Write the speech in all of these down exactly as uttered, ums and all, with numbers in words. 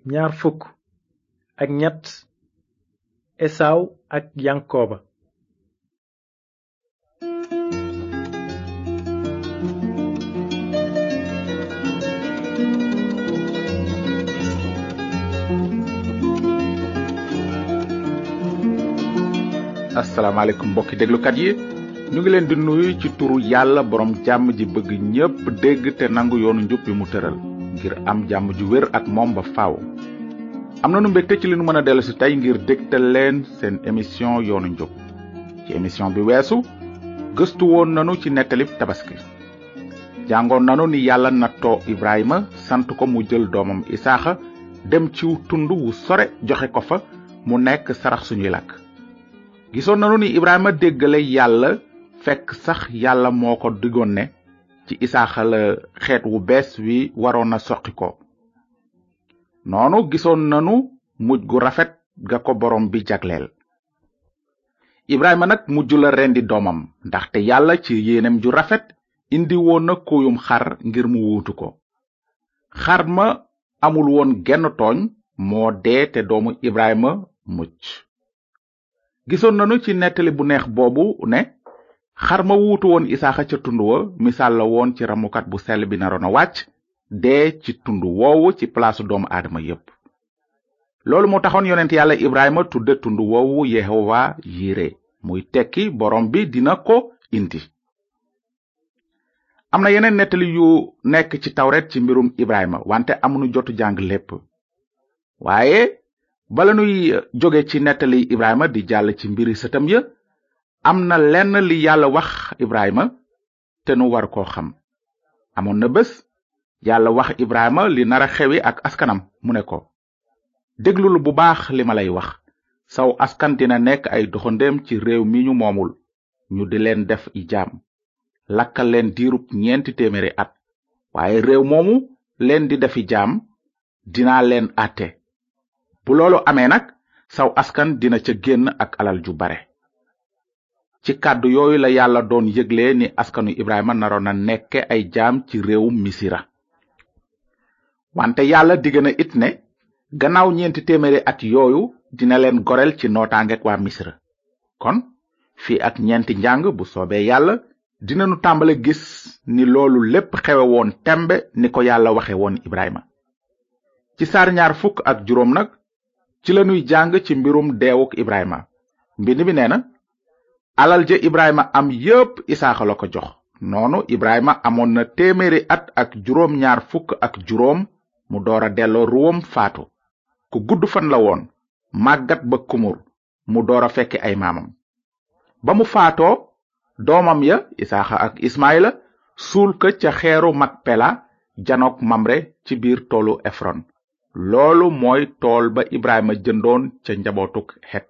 ñaar fukk ak ñett Esaw ak Yankoba. asalaamaaleykum mbokki déglukat yi ñu ngi leen di nuyu ci turu yàlla borom jàmm ji bëgg ñépp dégg te nangu yoonu njub bi mu tëral ngir am jàmm ju wér ak moom ba faaw. am na nu mbégte ci li nu mën a dellu si tey ngir dégtal leen seen émission yoonu njub. ci émission bi weesu gëstu woon nanu ci nettalib tabaski. jàngoon nanu ni yàlla nattoo Ibrahima sant ko mu jël doomam Isaaxa dem ci tund wu sore joxe ko fa mu nekk sarax suñuy lakk. gisoon nanu ni Ibrahima déggale yàlla fekk sax yàlla moo ko digoon ne ci Isaaxa la xeet wu bees wi waroon a soqi ko. noonu gisoon nanu mujj gu rafet ga ko borom bi jagleel. Ibrahima nag mujj la rendi doomam ndaxte yàlla ci yéenem ju rafet indi woon na kóoyum xar ngir mu wuutu ko. xar ma amul woon genn tooñ moo dee te doomu Ibrahima mucc. gisoon nanu ci nettali bu neex boobu ne xar ma wuutu woon Isaaxa ca tund wa misaal la woon ci ramukat bu sell bi naroon a wàcc dee ci tund woowu ci palaasu doomu aadama yépp. loolu moo taxoon yonent yàlla Ibrahima tudde tund woowu Yehowa Yire muy tekki borom bi dina ko indi. am na yeneen nettali yu nekk ci tawret ci mbirum Ibrahima wante amuñu jotu jàng lépp. waaye bala nuy jóge ci nettali Ibrahima di jàll ci mbiri sëtam ya am na lenn li yàlla wax Ibrahima te nu war koo xam. amoon na bés yàlla wax Ibrahima li nara xewi ak askanam mu ne ko déglul bu baax li ma lay wax saw askan dina nekk ay doxandéem ci réew mi ñu moomul ñu di leen def i jaam lakkal leen diirub ñeenti téeméeri at waaye réew moomu leen di defi jaam dinaa leen àtte. bu loolu amee nag saw askan dina ca génn ak alal ju bare. ci kàddu yooyu la yàlla doon yëgle ni askanu Ibrahima naroon na nekke ay jaam ci réewum Misira. wante yàlla digg na it ne gannaaw ñeenti téeméeri at yooyu dina leen goreel ci nootaangeek waa Misira. kon fii ak ñeenti njàng bu soobee yàlla dinanu tàmbale gis ni loolu lépp xewe woon tembe ni ko yàlla waxe woon Ibrahima. ci saar ñaar fukk ak juróom nag ci lanuy jàng ci mbirum deewuk Ibrahima. mbind mi nee na alal ja Ibrahima am yépp Isaaxa la ko jox. noonu Ibrahima amoon na téeméeri at ak juróom ñaar fukk ak juróom mu door a delloo ruwam faatu. ku gudd fan la woon màggat ba kumur mu door a fekke ay maamam. ba mu faatoo doomam ya Isaaxa ak Ismaila suul ko ca xeeru Makpela janook Mamre ci biir toolu Efron. loolu mooy tool ba Ibrahima jëndoon ca njabootuk Het.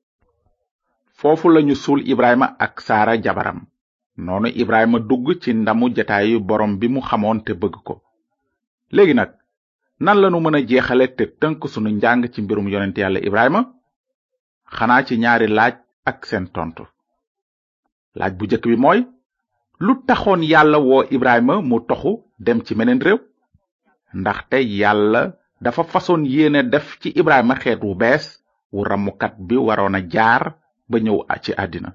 foofu lañu suul Ibrahima ak Saara jabaram. noonu Ibrahima dugg ci ndamu jataayu borom bi mu xamoon te bëgg ko. léegi nag nan lanu mën a jeexale te tënk sunu njàng ci mbirum yonent yàlla Ibrahima? xanaa ci ñaari laaj ak seen tontu. laaj bu jëkk bi mooy lu taxoon yàlla woo Ibrahima mu toxu dem ci meneen réew? ndaxte yàlla dafa façon yéene def ci Ibrahima xeet wu bees wu ramukat bi waroon a jaar ba ñëw ci àddina.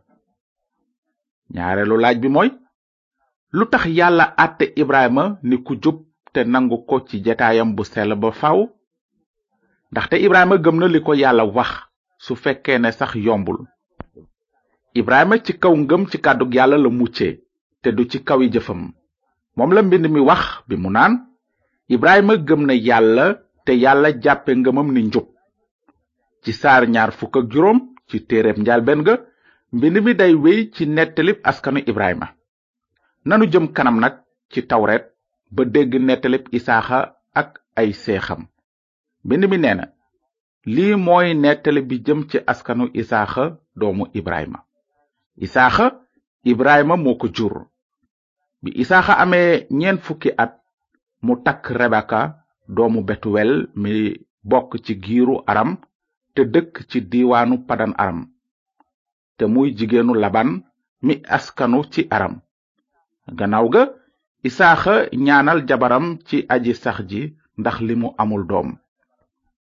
ñaareelu laaj bi mooy lu tax yàlla àtte Ibrahima ni ku jub te nangu ko ci jataayam bu sell ba faw? ndaxte Ibrahima gëm na li ko yàlla wax su fekkee ne sax yombul. Ibrahima ci kaw ngëm ci kàddug yàlla la muccee te du ci kaw yi jëfam. moom la mbind mi wax bi mu naan Ibrahima gëm na yàlla te yàlla jàppe ngëmam ni njub. ci saar ñaar fukk ak juróom ci téereb njaalbeen ga mbind mi day wéy ci nettalib askanu Ibrahima. nanu jëm kanam nag ci tawret ba dégg nettalib Isaaxa ak ay seexam. mbind mi nee na lii mooy nettali bi jëm ci askanu Isaaxa doomu Ibrahima. Isaaxa Ibrahima moo ko jur. bi Isaaxa amee ñeent fukki at mu takk Rebeka doomu Betuwel mi bokk ci giiru Aram te dëkk ci diiwaanu Padan Aram te muy jigéenu Laban mi askanu ci Aram. gannaaw ga Isaaxa ñaanal jabaram ci aji sax ji ndax li mu amul doom.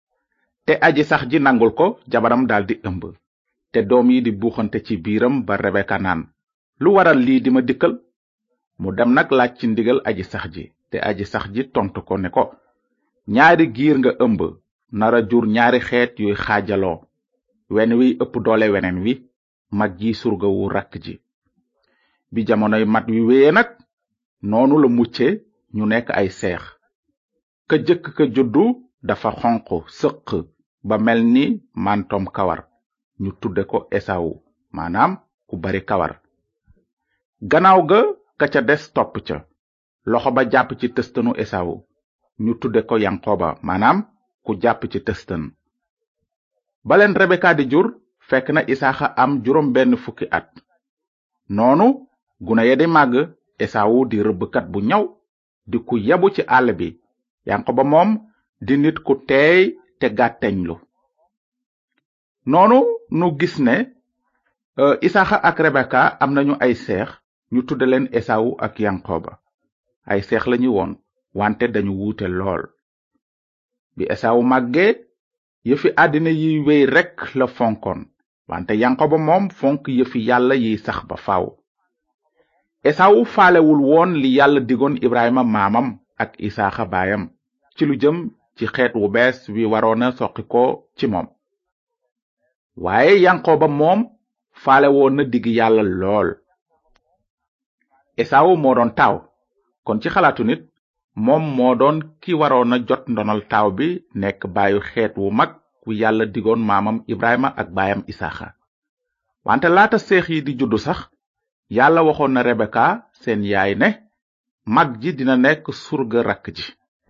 te aji sax ji nangul ko jabaram daldi ëmb te doom yi di buuxante ci biiram ba Rebeka naan lu waral lii di ma dikkal mu dem nag laaj ci ndigal aji sax ji te aji sax ji tontu ko ne ko ñaari giir nga ëmb nara jur ñaari xeet yuy xaajaloo wenn wi ëpp doole weneen wi mag ji surga wu rakk ji bi jamonoy mat wi wéye nag noonu la mucce ñu nekk ay seex ka jëkk ka juddu dafa xonq sëq ba mel ni mantom kawar ñu tudde ko Esawu maanaam ku bari kawar gannaaw ga ka ca des topp ca loxo ba jàpp ci tëstanu Esawu ñu tudde ko Yankoba maanaam ku jàpp ci tëstan baleen Rebeka di jur fekk na Isaaxa am juróom benn fukki at noonu gune ya di màgg Esawu di rëbbkat bu ñaw di ku yebu ci àll bi Yankoba moom di nit ku teey te gàtteñlu noonu nu gis ne uh, Isaaxa ak Rebeka am nañu ay seex ñu tudde leen Esawu ak Yankoba ay seex lañu woon wante dañu wuute lool bi Esawu màggee yëfi àddina yiy wéy rekk la fonkoon wante Yankoba moom fonk yëfi yàlla yiy sax ba faaw Esawu faalewul woon li yàlla digoon Ibrahima maamam ak Isaaxa baayam ci lu jëm ci xeet wu bees wi waroona soqi ko ci moom waaye Yankoba moom faale woon na digg yàlla lool Esawu moo doon taaw kon ci xalaatu nit moom moo doon ki waroona jot ndonal taaw bi nekk baayu xeet wu mag wu yàlla digoon maamam Ibrahima ak baayam Isaaxa wante laata seex yi di juddu sax yàlla waxoon na Rebeka seen yaay ne mag ji dina nekk surga rakk ji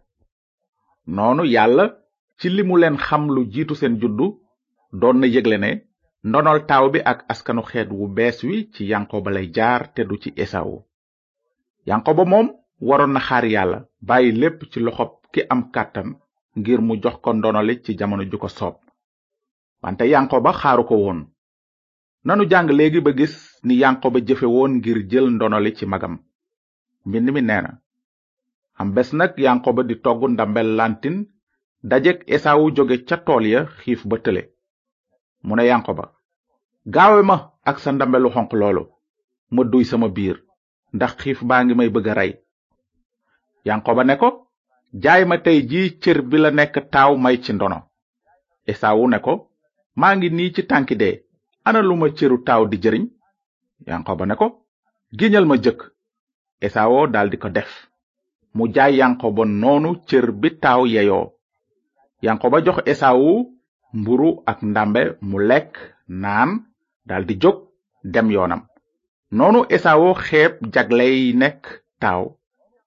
noonu yàlla ci li mu leen xam lu jiitu seen juddu doon na yëgle ne ndonol taaw bi ak askanu xeet wu bees wi ci Yankoba lay jaar te du ci Esawu Yankoba moom waroon na xaar yàlla bàyyi lépp ci loxob ki am kàttan ngir mu jox ko ndonoli ci jamono ju ko soob wante Yankoba xaaru ko woon nanu jàng léegi ba gis ni Yankoba jëfe woon ngir jël ndonoli ci magam mbind mi nee na am bés nag Yankoba di togg ndambel lantin dajek Esawu jóge ca tool ya xiif ba tële mu ne Yankoba gaawe ma ak sa ndambelu xonq loolu ma duy sama biir ndax xiif baa ngi may bëgg a rey Yankoba ne ko jaay ma tey ji cër bi la nekk taaw may ci ndono Esawu ne ko maa ngi nii ci tànki dee ana lu ma cëru taaw di jëriñ Yankoba ne ko giñal ma jëkk Esawu daldi ko def mu jaay Yankoba noonu cër bi taaw yeyoo Yankoba jox Esawu mburu ak ndambe mu lekk naan daldi jóg dem yoonam noonu Esawu xeeb jagley nekk taaw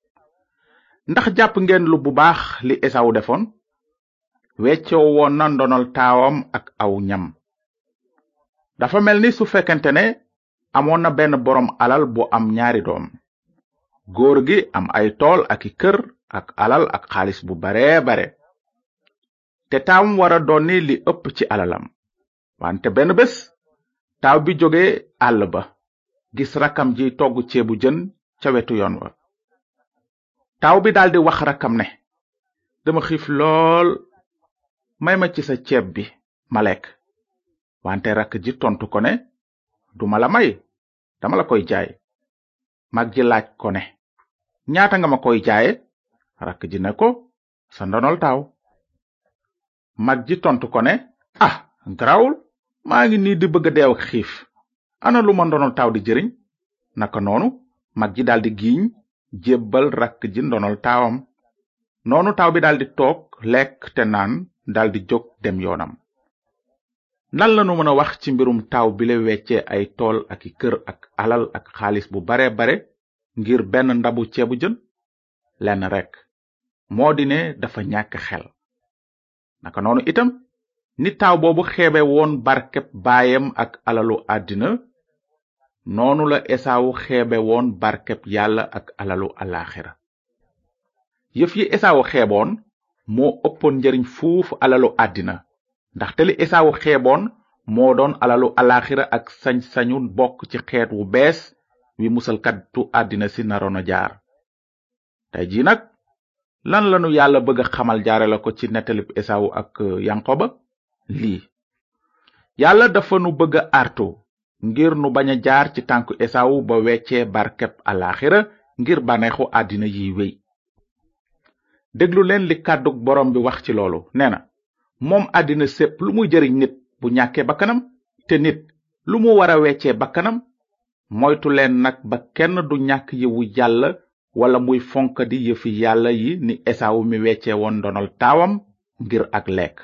ndax jàpp ngeen lu bu baax li Esawu defoon weccoo woon na ndonol taawam ak aw ñam dafa mel ni su fekkente ne amoon na benn boroom alal bu am ñaari doom góor gi am ay tool ak i kër ak alal ak xaalis bu bare bare te taawam wara donni li ëpp ci alalam wante benn bés taaw bi jóge àll ba gis rakkam ji togg ceebu jën ca wetu yoon wa taaw bi daldi wax rakkam ne dama xiif lool may ma ci sa ceeb bi ma lekk wante rakk ji tontu ko ne duma la may dama la koy jaay mag ji laaj ko ne ñaata nga ma koy jaaye rakk ji ne ko sa ndonol taaw mag ji tontu ko ne ah garawul maa ngi nii di bëgg a deew ak xiif ana lu ma ndonol taaw di jëriñ naka noonu mag ji daldi giiñ jébbal rakk ji ndonol taawam noonu taaw bi daldi toog lekk te naan daldi jóg dem yoonam lan lanu mën a wax ci mbirum taaw bi la weccee ay tool ak i kër ak alal ak xaalis bu bare bare ngir benn ndabu ceebu jën lenn rekk moo di ne dafa ñàkk xel naka noonu itam ni taaw boobu xeebe woon barkeb baayam ak alalu àddina noonu la Esawu xeebe woon barkeb yàlla ak alalu alaxira yëf yi Esawu xeeboon moo ëppoon njariñ fuuf alalu àddina ndaxte li Esawu xeeboon moo doon alalu alaxira ak sañ-sañu bokk ci xeet wu bees wi musalkatu àddina si naroon a jaar tey ji nag lan lanu yàlla bëgg a xamal jaare la ko ci nettalib Esawu ak Yankoba? lii yàlla dafa nu bëgg a artu ngir nu bañ a jaar ci tànku Esawu ba weccee barkeb alaxira ngir baneexu àddina yi wéy. déglu leen li kàddug borom bi wax ci loolu. nee na moom àddina sépp lu muy jëriñ nit bu ñàkkee bakkanam, te nit lu mu war a weccee bakkanam. moytu leen nag ba kenn du ñàkk yiwu yàlla wala muy fonkadi yëfi yàlla yi ni Esawu mi weccee woon ndonol taawam ngir ak lekk.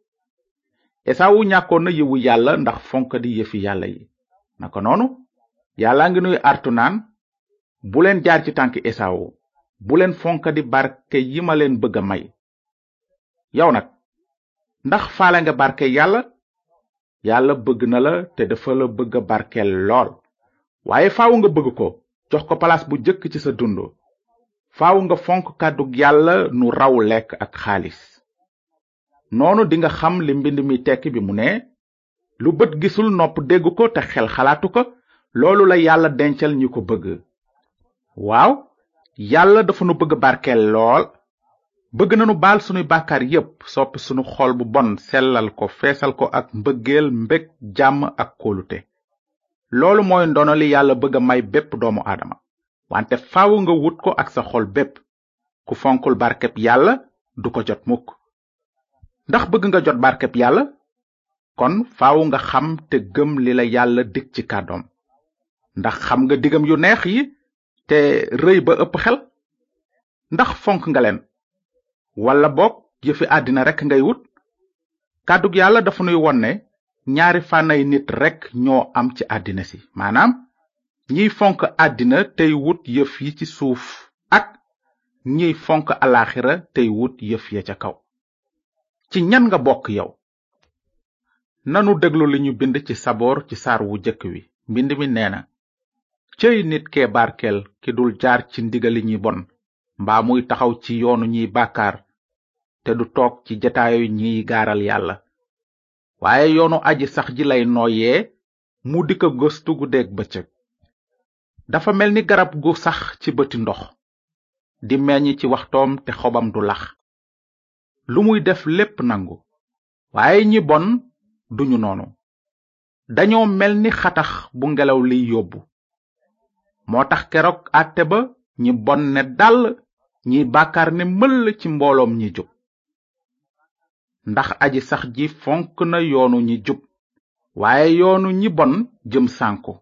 Esawu ñàkkoon na yiwu yàlla ndax fonkadi yëfi yàlla yi. naka noonu yàlla ngi nuy artu naan bu leen jaar ci tànk Esawu, bu leen fonkadi barke yi ma leen bëgg a may. yow nag ndax faale nga barke yàlla? yàlla bëgg na la te dafa la bëgg a barkeel lool, waaye faaw nga bëgg ko jox ko palaas bu jëkk ci sa dund. faaw nga fonk kàddug yàlla nu raw lekk ak xaalis. noonu dinga xam li mbind mi tekki bi mu ne, lu bët gisul nopp dégg ko te xel xalaatu ko, loolu la yàlla dencal ñi ko bëgg. waaw yàlla dafa nu bëgg barkeel lool. bëgg nanu baal sunuy bàkkaar yépp, soppi sunu xol bu bon, sellal ko, feesal ko ak mbëggeel, mbég, jàmm ak kóolute. loolu mooy ndono li yàlla bëgg a may bépp doomu aadama, wante faaw nga wut ko ak sa xol bépp. ku fonkul barkeb yàlla du ko jot mukk. ndax bëgg nga jot barkeb yàlla? kon faaw nga xam te gëm li la yàlla dig ci kàddoom. ndax xam nga digam yu neex yi te rëy ba ëpp xel? ndax fonk nga leen walla boog yëfi àddina rekk ngay wut? kàddug yàlla dafa nuy won ne ñaari fànnay nit rekk ñoo am ci àddina si, maanaam ñiy fonk àddina tey wut yëf yi ci suuf ak ñiy fonk alaxira tey wut yëf ya ca kaw. ci ñan nga bokk yow? nanu déglu li ñu bind ci saboor ci saar wu jëkk wi. mbind mi nee na, cëy nit kee barkeel ki dul jaar ci ndigali ñi bon, mbaa muy taxaw ci yoonu ñiy bàkkaar, te du toog ci jataayu ñiy gaaral yàlla. waaye yoonu aji sax ji lay nooyee, mu di ko gëstu guddeeg bëccëg. dafa mel ni garab gu sax ci bëti ndox, di meññ ci waxtoom te xobam du lax. lu muy def lépp nangu. waaye ñi bon duñu noonu. dañoo mel ni xatax bu ngelaw liy yóbbu. moo tax keroog àtte ba ñi bon ne dàll, ñiy bàkkaar ne mëll ci mbooloom ñi jub. ndax aji sax ji fonk na yoonu ñi jub, waaye yoonu ñi bon jëm sànku.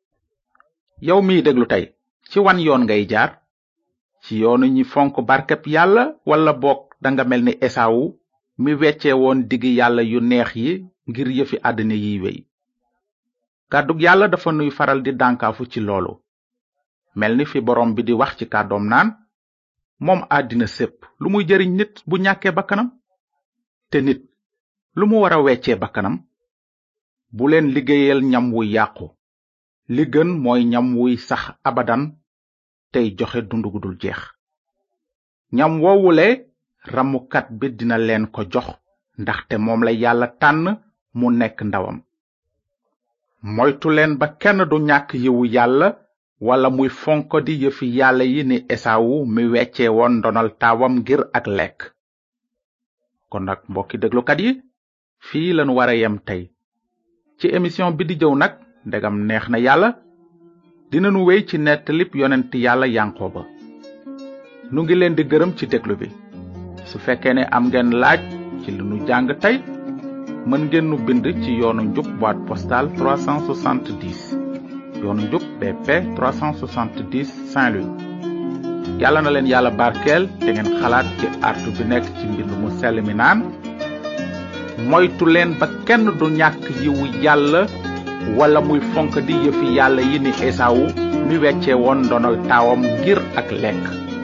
yow miy déglu tey, ci wan yoon ngay jaar? ci yoonu ñi fonk barkeb yàlla walla boog danga mel ni Esawu mi wecce woon digi yàlla yu neex yi ngir yëfi àddina yiy wey? kàddug yàlla dafa nuy faral di dànkaafu ci loolu, mel ni fi borom bi di wax ci kàddoom naan, moom àddina sépp lu muy jëriñ nit bu ñàkkee bakkanam, te nit lu mu war a weccee bakkanam? bu leen liggéeyal ñam wuy yàqu, li gën mooy ñam wuy sax abadan tey joxe dund gu dul jeex. ñam woowule ramukat bi dina leen ko jox, ndaxte moom la yàlla tànn mu nekk ndawam. moytu leen ba kenn du ñàkk yiwu yàlla wala muy fonko di yëfi yàlla yi ni Esawu mi weccee woon ndonal taawam ngir ak lekk. kon nag mbokki déglukat yi, fii lañu war a yem tey. ci émission bi di jëw nag, ndegam neex na yàlla, dinanu wéy ci nettalib yonent yàlla Yankoba. nu ngi leen di gërëm ci déglu bi. su fekkee ne am ngeen laaj ci li nu jàng tey, mën ngeen nu bind ci yoonu njub boîte postale trois cent soixante-dix, yoonu njub B P trois cent soixante-dix Saint-Louis. yàlla na leen yàlla barkeel te ngeen xalaat ci artu bi nekk ci mbind mu sell mi naan, moytu leen ba kenn du ñàkk yiwu yàlla wala muy fonk di yëfi yàlla yi ni Esawu mi wecce woon ndonal taawam ngir ak lekk.